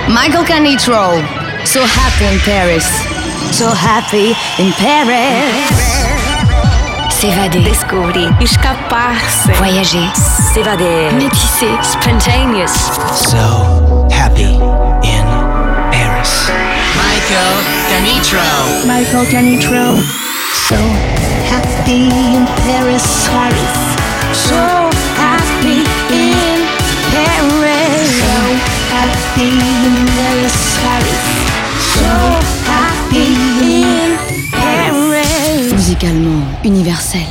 Michael Canitrot, So Happy in Paris. So Happy in Paris. S'évader, descobrir, escapar-se, voyager, s'évader, métisser, spontaneous. So happy in Paris. Michael Canitrot. Michael Canitrot. So happy in Paris. Paris. So happy in Paris. So happy in Paris. Paris. So happy in Paris. musicalement universel.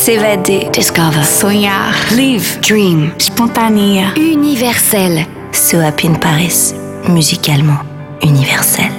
s'évader, Discover. sonhar, Live. Dream. espontânea. Universel. So Happy in Paris, musicalement universel.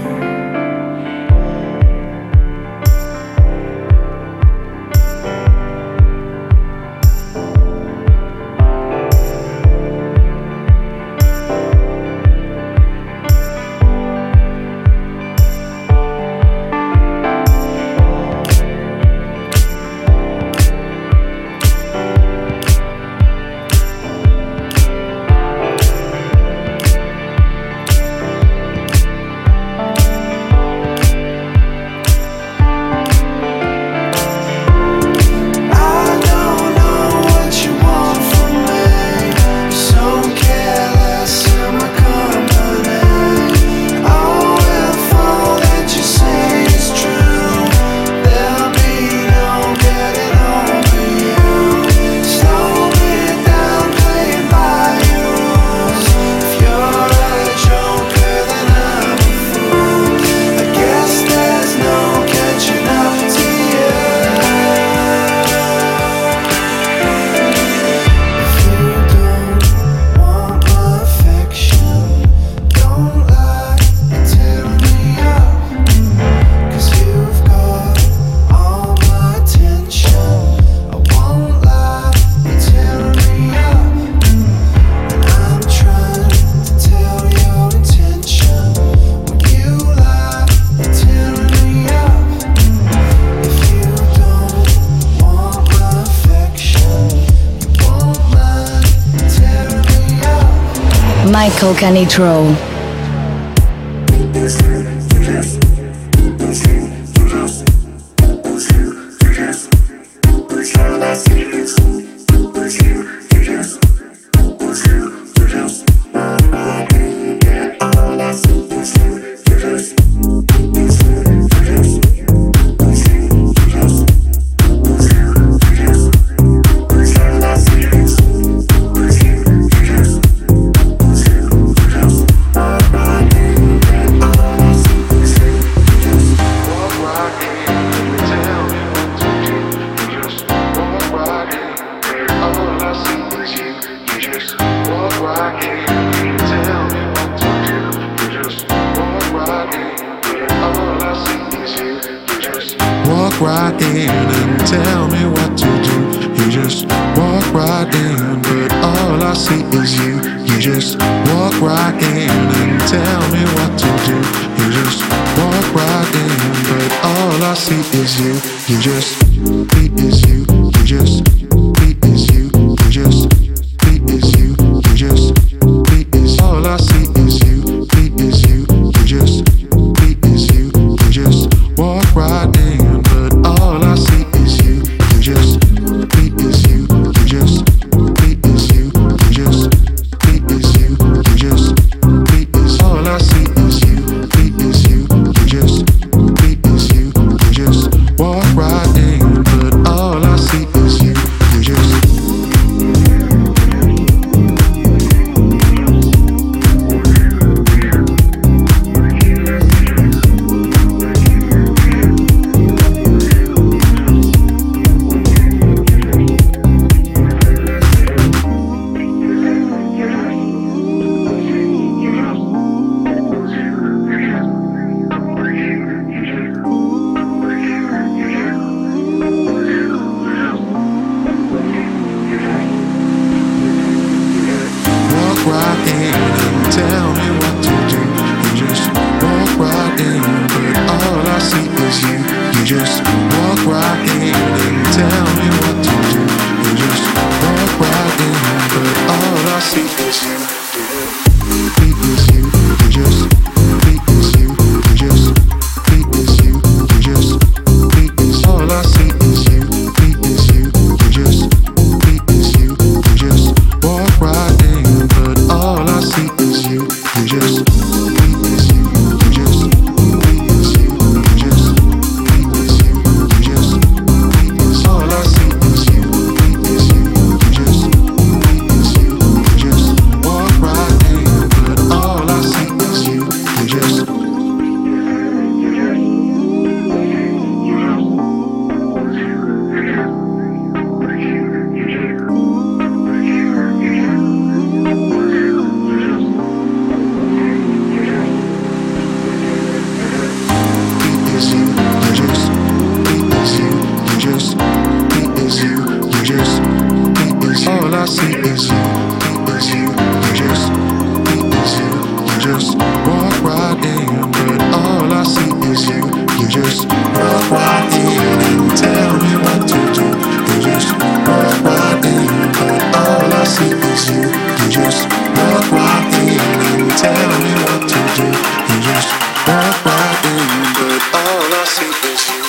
Michael Canitrot. Right in and tell me what to do. You just walk right in, but all I see is you. You just walk right in and tell me what to do. You just walk right in, but all I see is you. You just beat is you. You just beat is you. You just beat is you. You just beat is all I see is you. Beat is you. You just beat is you. You just walk right in. All I see is you. You just beat is you. You just beat is you. You just beat is you. You just beat is all I see is you. Beat is you. You just beat is you. You just walk right in, but all I see is you. You just beat is you. just walk right in and tell me what to do. You just walk right in, but all I see is you. You just walk right in and tell me what to do. You just walk right in, but all I see is you.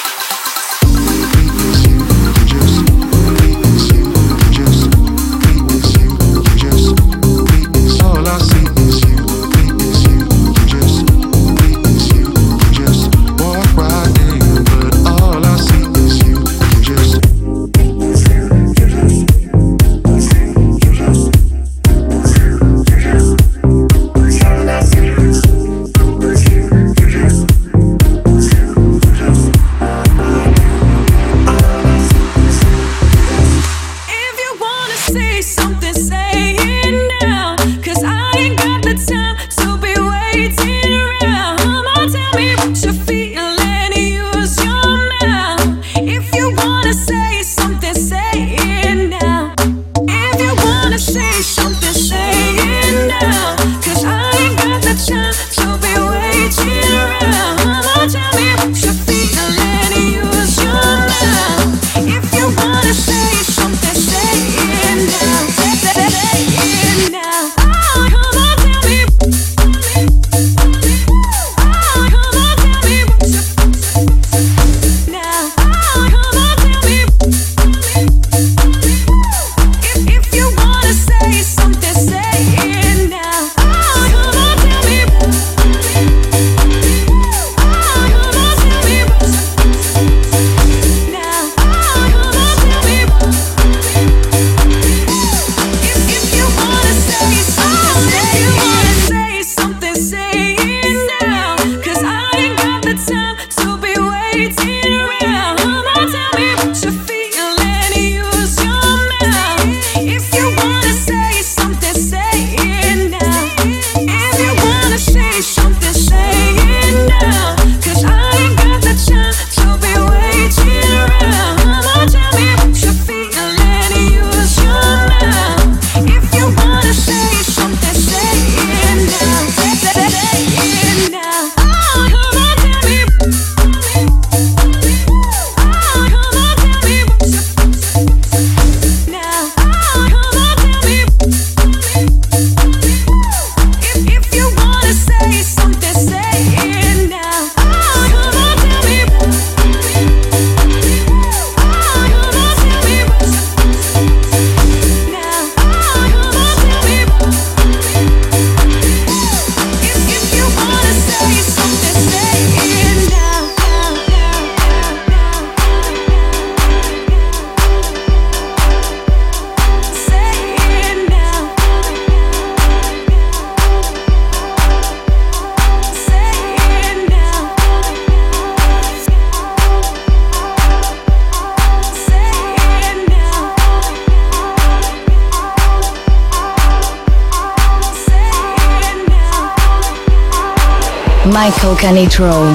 Michael Canitrot.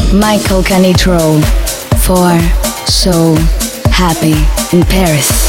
Michael Canitrot for So Happy in Paris.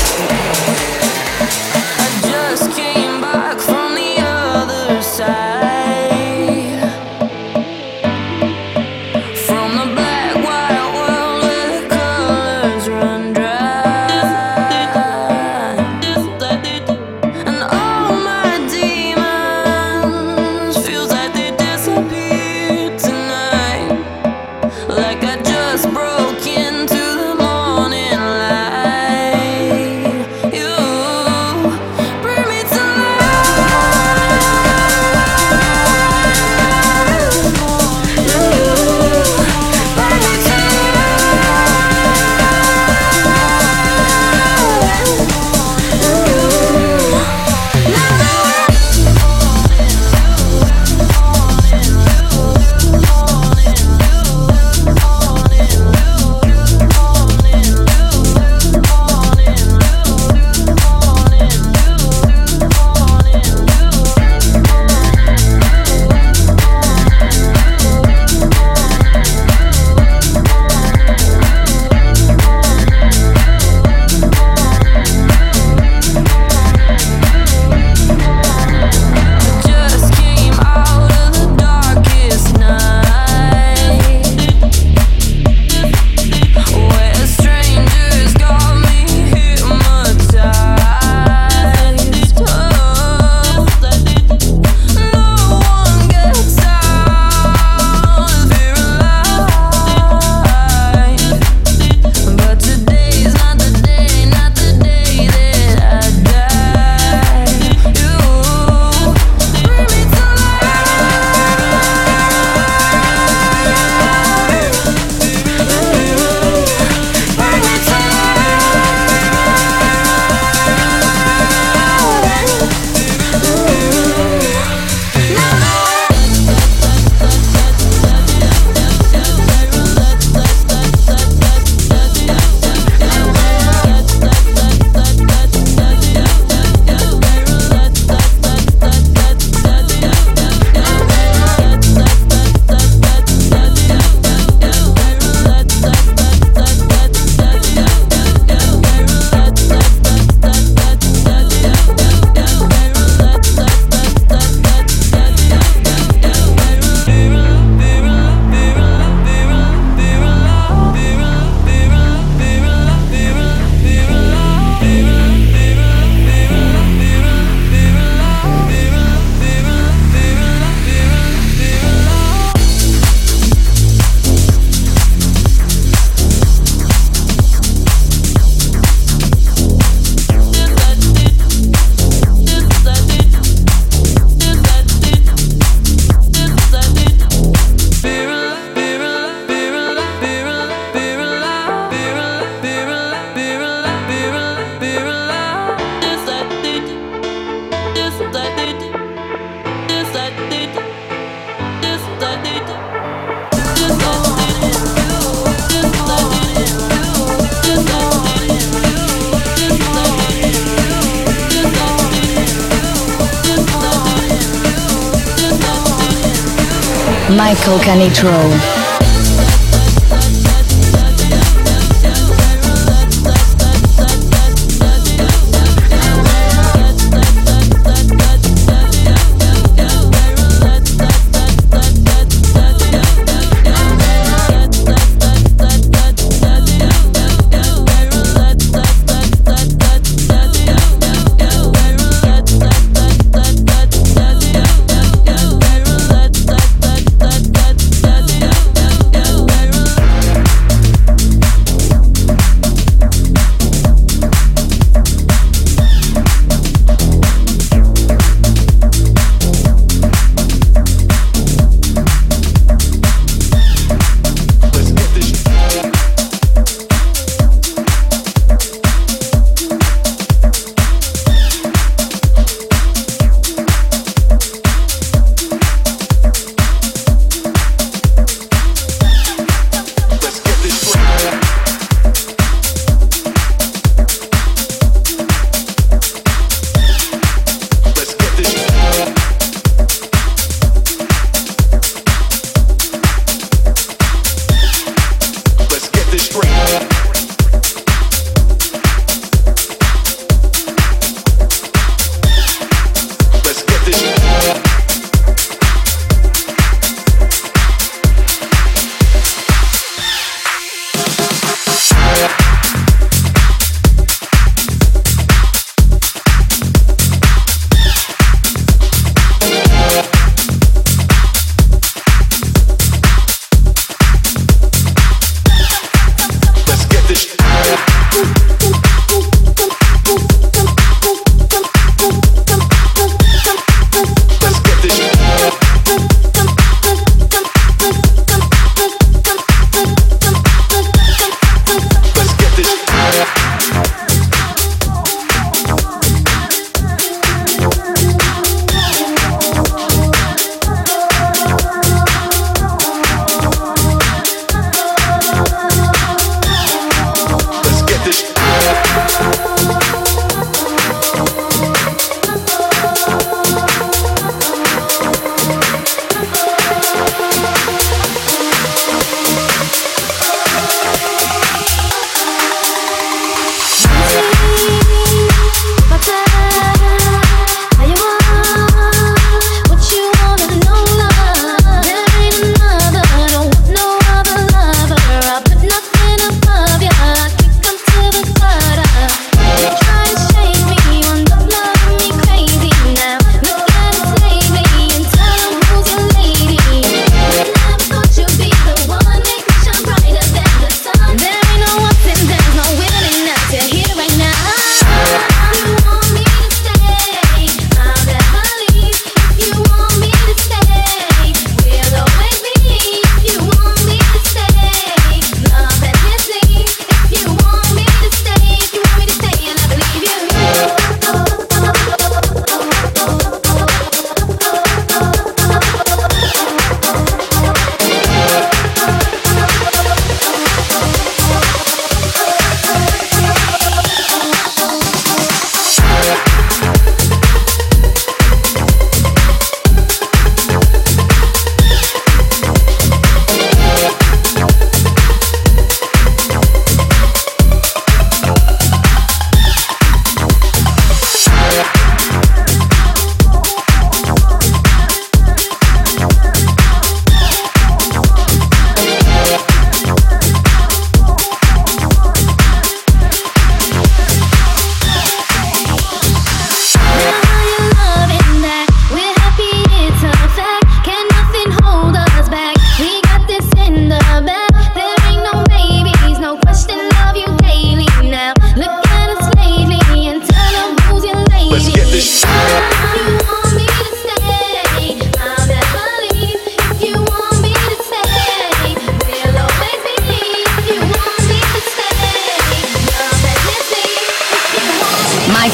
Michael Canitrot.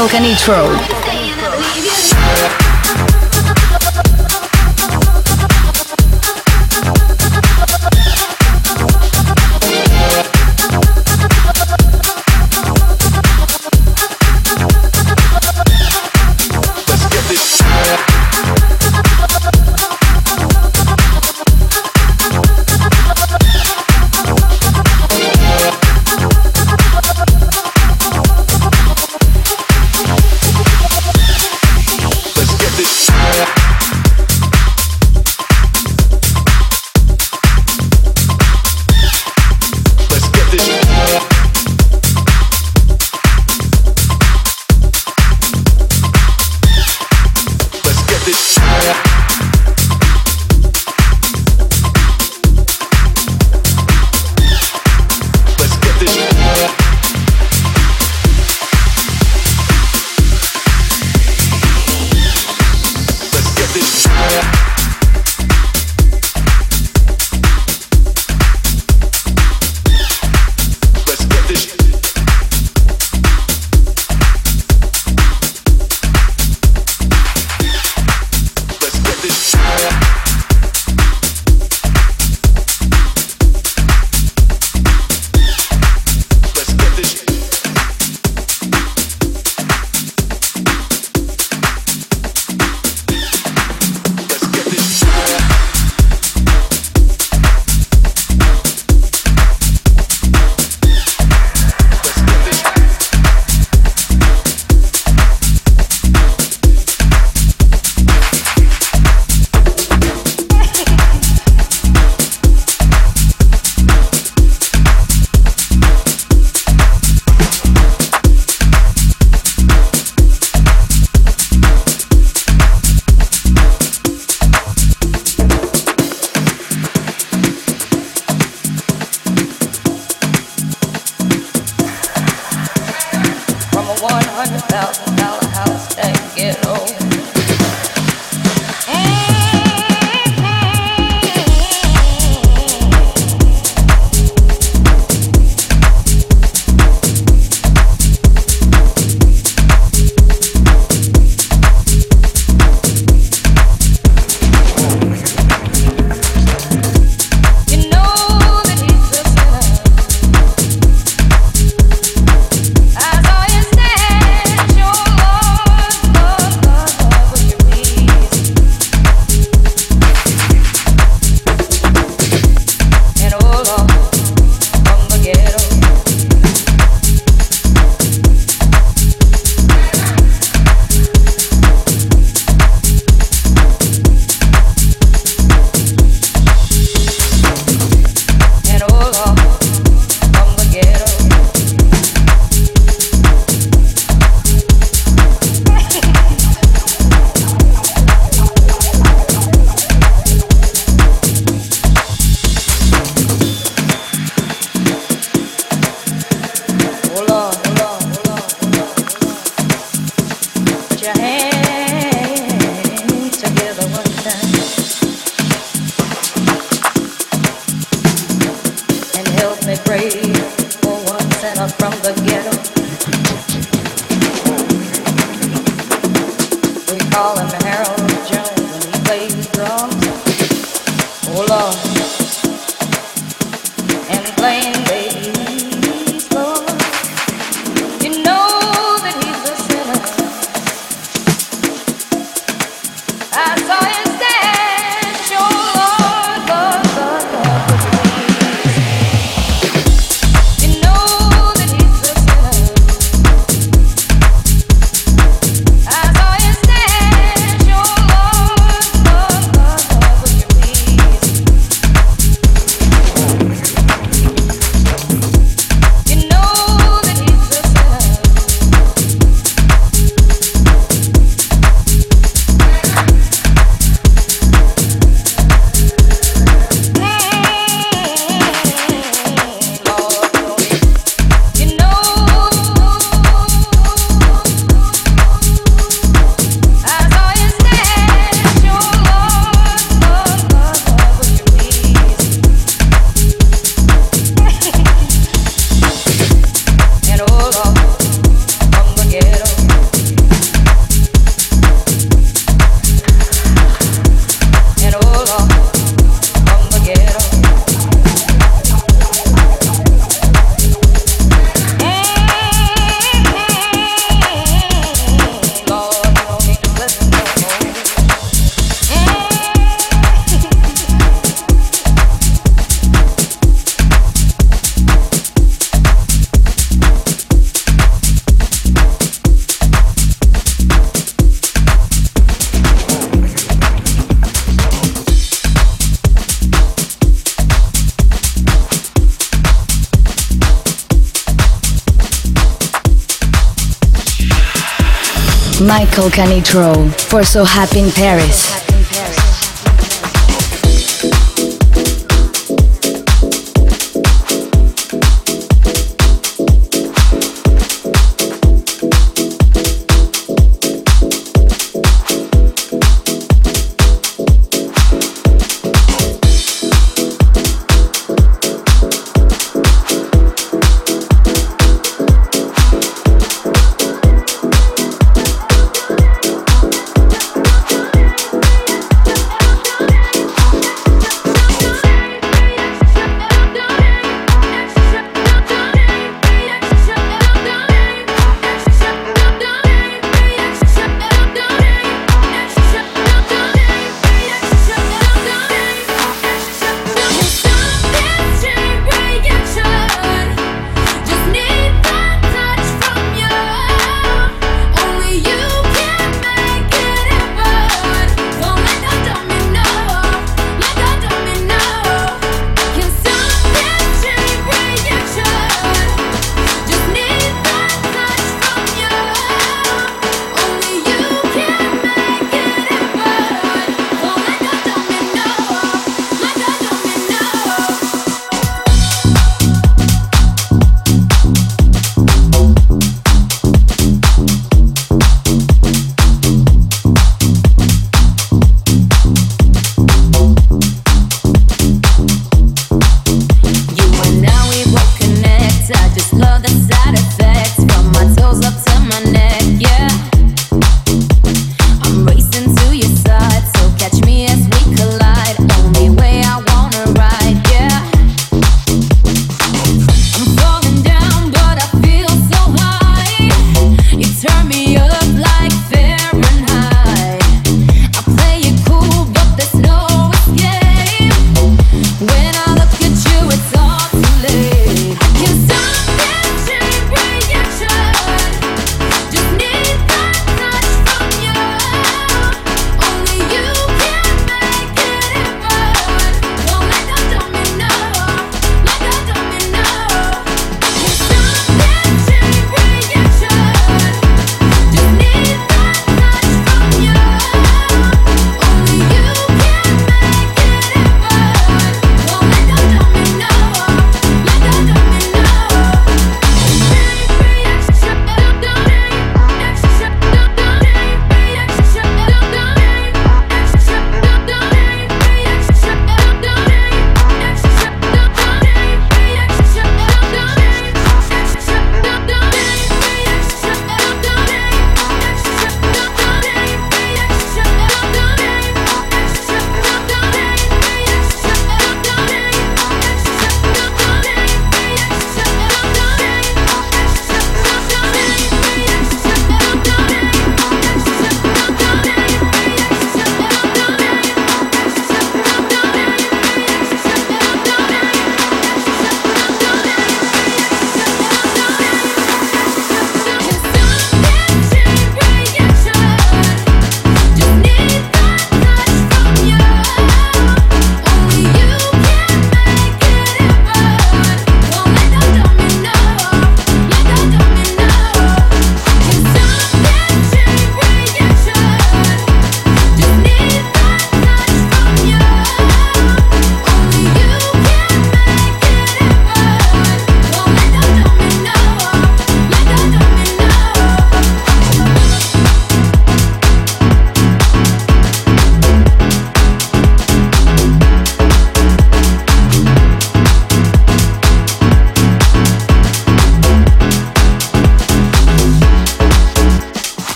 Michael Canitro. Michael Canitrot for So Happy in Paris.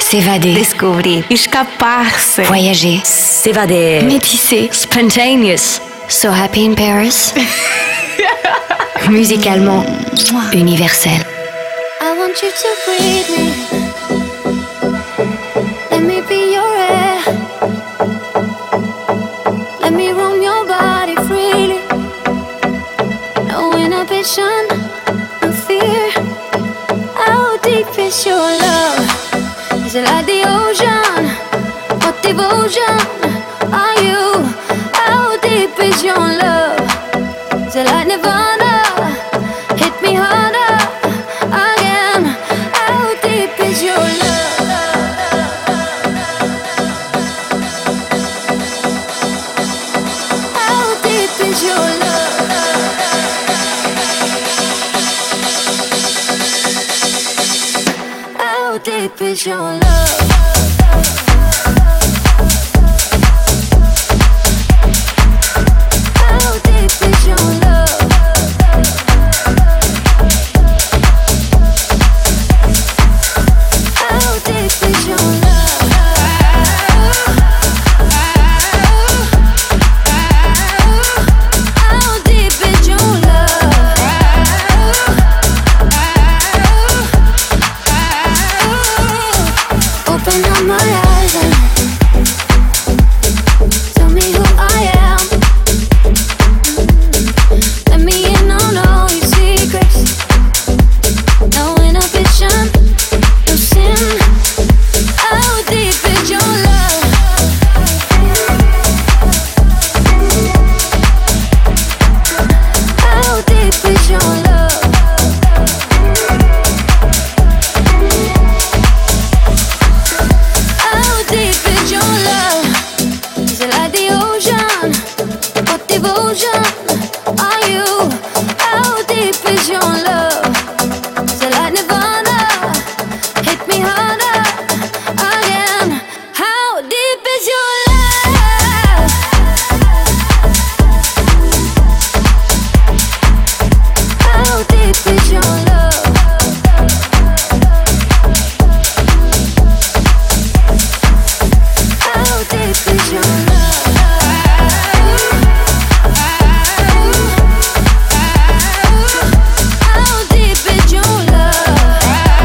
S'évader. Descobrir. Escapar-se. Voyager. S'évader. Métisser. Spontaneous. So happy in Paris. Musicalement universel. I want you to breathe me. Let me be your air. Let me roam your body freely. No inhibition, no fear. How deep is your love? Is it like the ocean? What devotion are you? How deep is your love? Is it like Nirvana? Hit me harder again. How deep is your love? How deep is your love? How deep is your love? How deep is your love? How deep is your love? How deep is your love? Open up my eyes and tell me who I am. Let me in on all your secrets. No inhibition, no sin. How deep is your love? How deep is your love? How deep is your love? Is it like the ocean? What devotion are you? How deep is your love? Is it like Nirvana? Hit me harder again. How deep is your love? How deep is your love? How deep is your love? How deep is your love?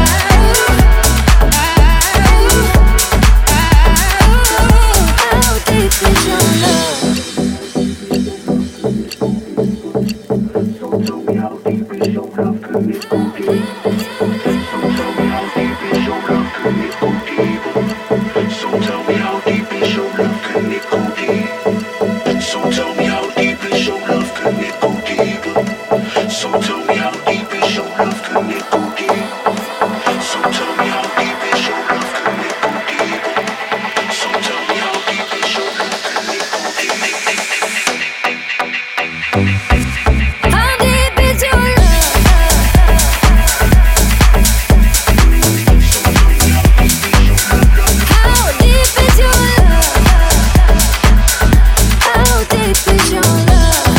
How deep is your love? So tell me how deep is your love, can it go deep? So tell me how deep is your love, can it go deeper? So tell me how deep is your love, can it go deep? So tell me how deep is your love, can it go deeper? So tell me how deep is your love, can it go deep? How deep is your love? How deep is your love? How deep is your love?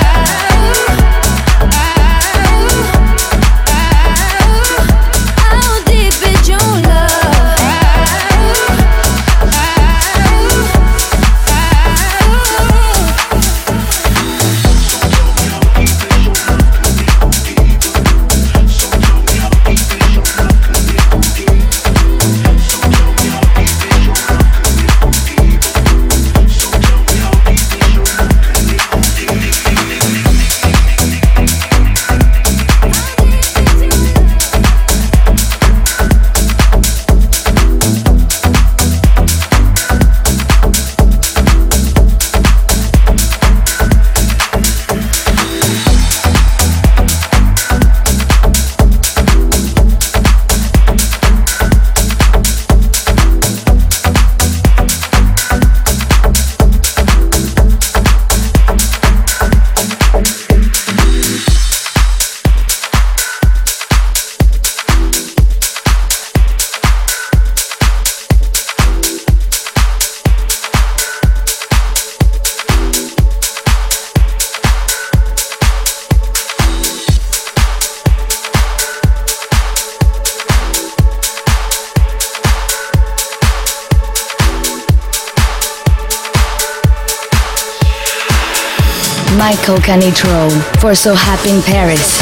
How deep is your love? Michael Canitrot for So Happy in Paris.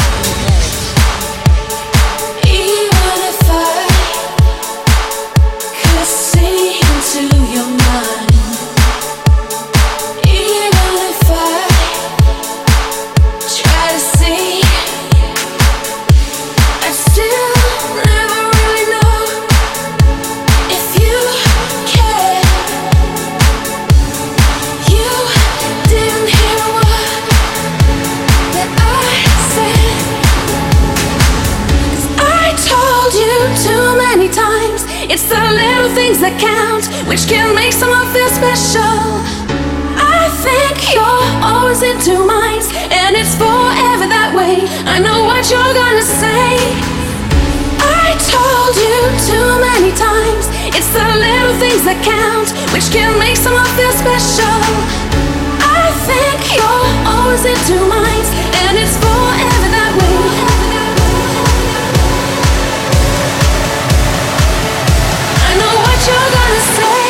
It's the little things that count, which can make someone feel special. I think you're always in two minds, and it's forever that way. I know what you're gonna say. I told you too many times, it's the little things that count, which can make someone feel special. I think you're always in two minds, and it's forever that way. You're gonna say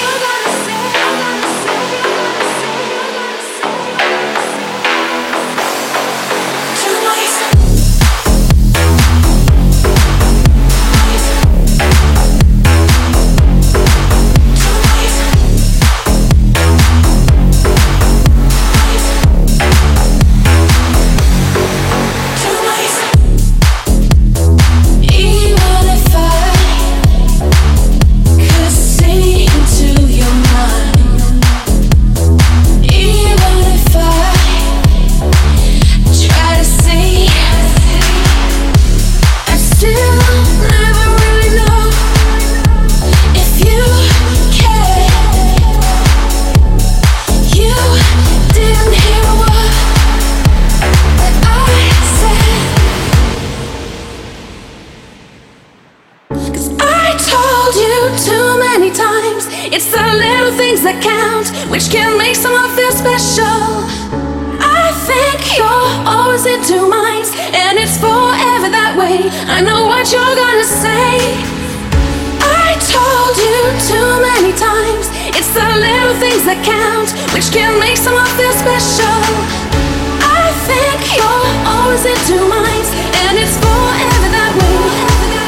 it's the little things that count, which can make someone feel special. I think you're always in two minds, and it's forever that way. I know what you're gonna say. I told you too many times, it's the little things that count, which can make someone feel special. I think you're always in two minds, and it's forever that way.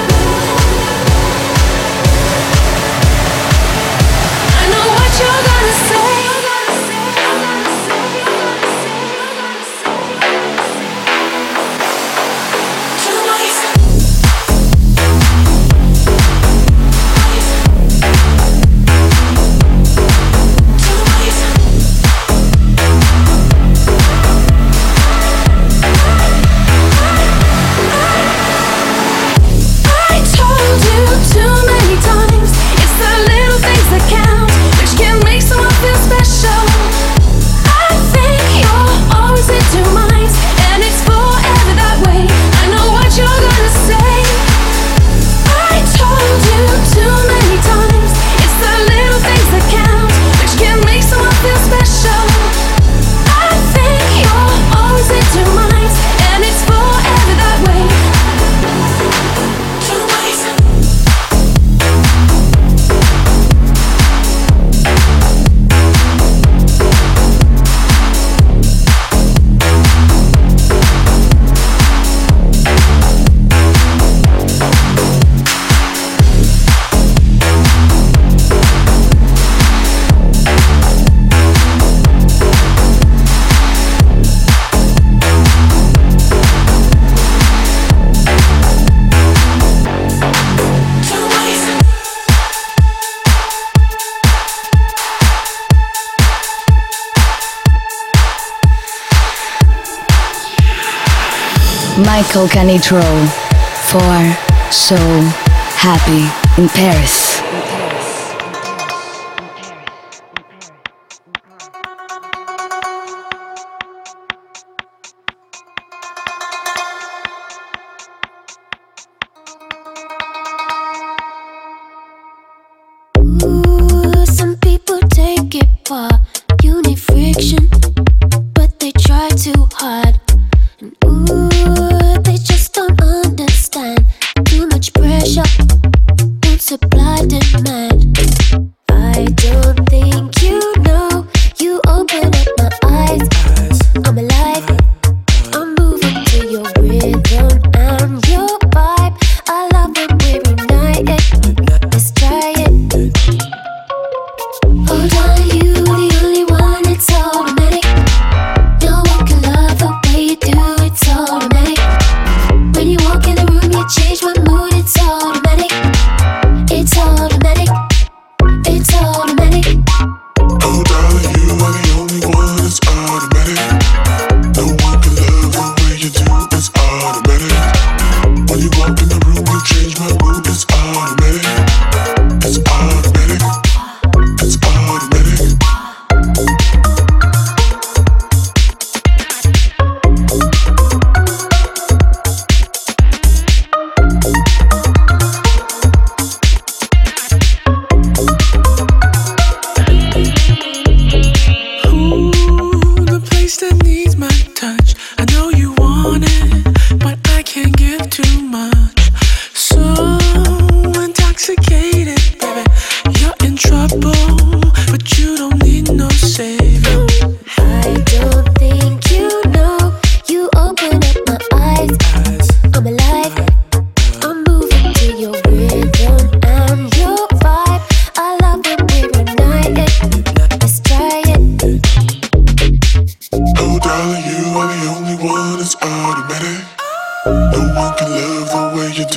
You're gonna say Michael Canitrot for So Happy in Paris. Ooh, some people take it far. You need friction, but they try too hard. And ooh, they just don't understand. Too much pressure, won't supply demand. I don't think you know. You open up my eyes. I'm alive.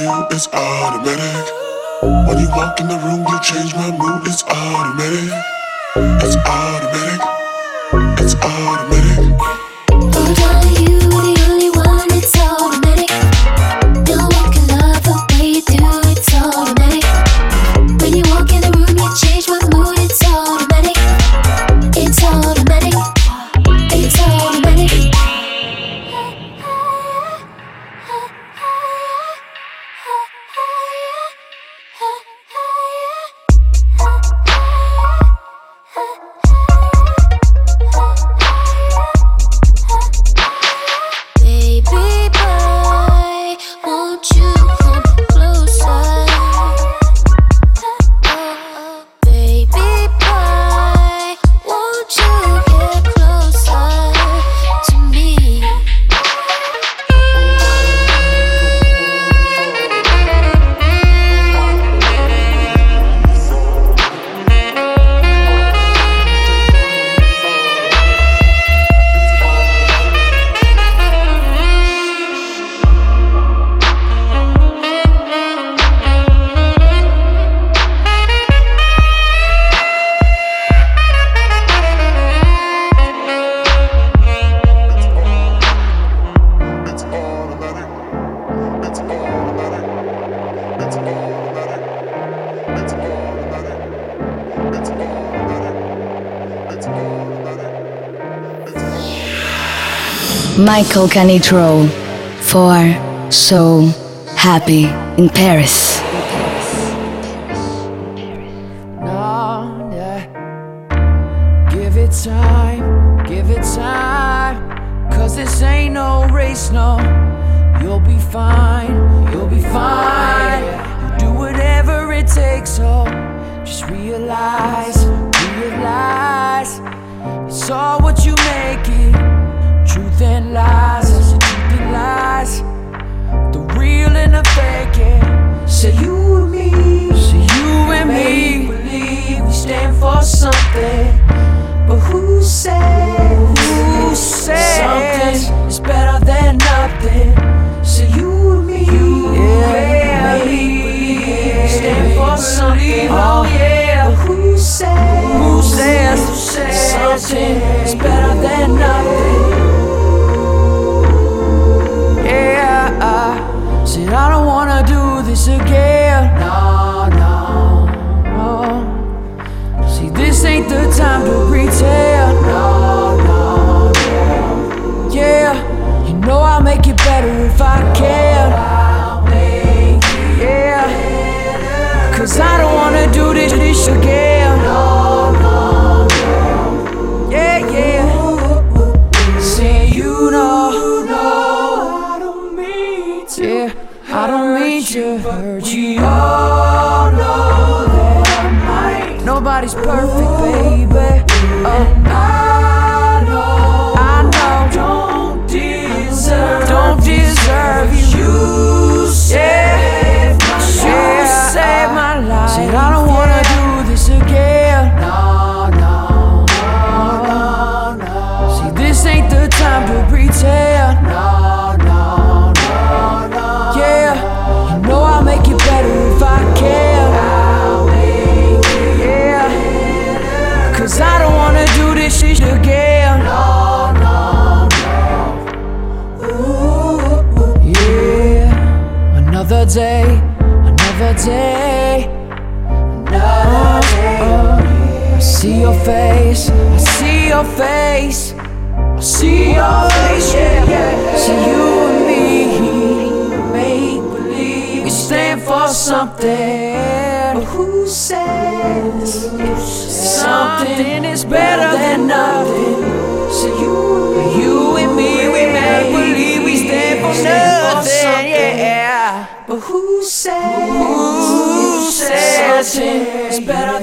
you, it's automatic. When you walk in the room, you change my mood, it's automatic. It's automatic. It's automatic. Oh, darling, you the only one, it's automatic. No one can love the way you do, it's automatic. When you walk in the room, you change my mood, it's automatic. It's automatic. It's automatic. Baby boy, won't you come closer? Baby boy, won't you get closer to me? Michael Canitrot for So Happy in Paris. No, yeah. Give it time, 'cause this ain't no race, no. You'll be fine, you'll be fine. You'll do whatever it takes, so just realize, it's all what you make it. Truth and lies, the real and the fake, yeah. Say you and me, believe we stand for something. But who says something is better than nothing? Say you and me, believe we stand for something. Oh yeah, but who says something is better than nothing? Said I don't wanna do this again. No. See, this ain't the time to pretend. No. Yeah, you know I'll make it better if I can. Yeah, 'cause I don't wanna do this again. No. Yeah. Say you know. Yeah, I don't mean to hurt you. Oh, no, that I might. Nobody's perfect, baby. And I know. Don't deserve you. You saved my life. Said I don't wanna do this again. No. See, this ain't the time to pretend. No. Make it better if I can. Yeah, 'cause I don't wanna do this shit again. No. Yeah, another day. I see your face. Yeah. See you and me. Stand for something, but who says something is better than nothing? So you and me, we make believe we stand for nothing, yeah. But who says something is better